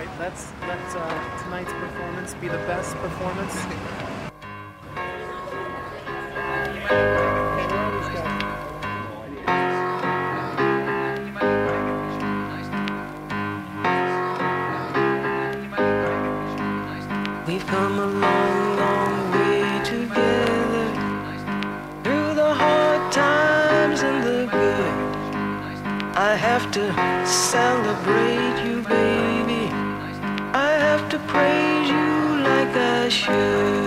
right, let tonight's performance be the best performance. We've come a long, long way together, through the hard times and the good. I have to celebrate you, baby. I have to praise you like I should.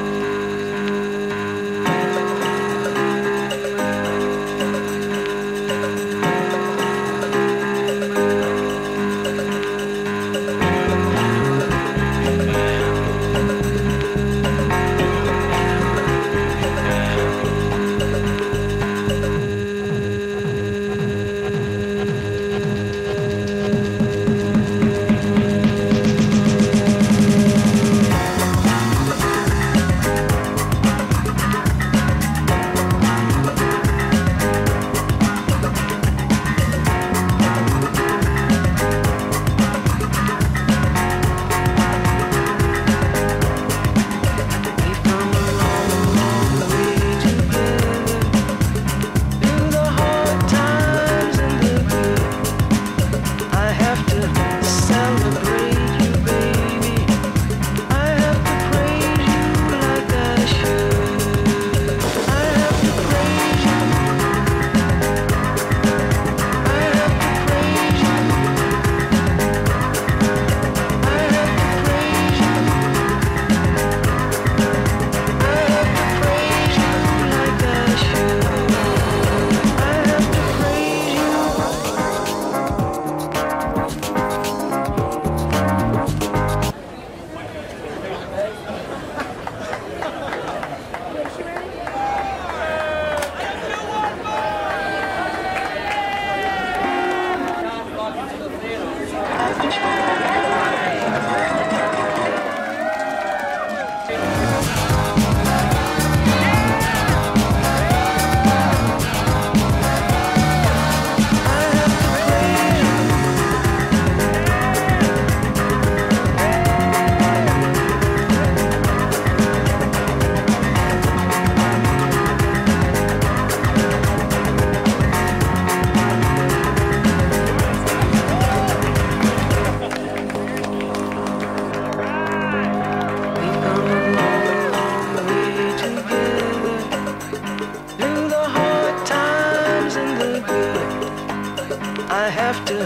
I have to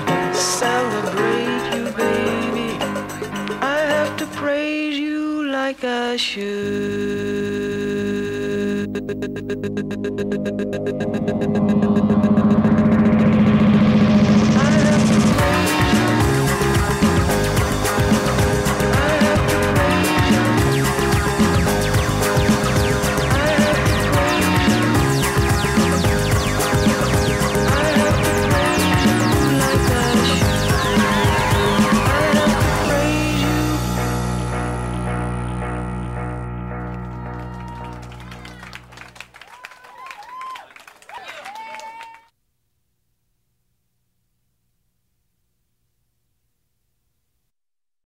celebrate you, baby. I have to praise you like I should.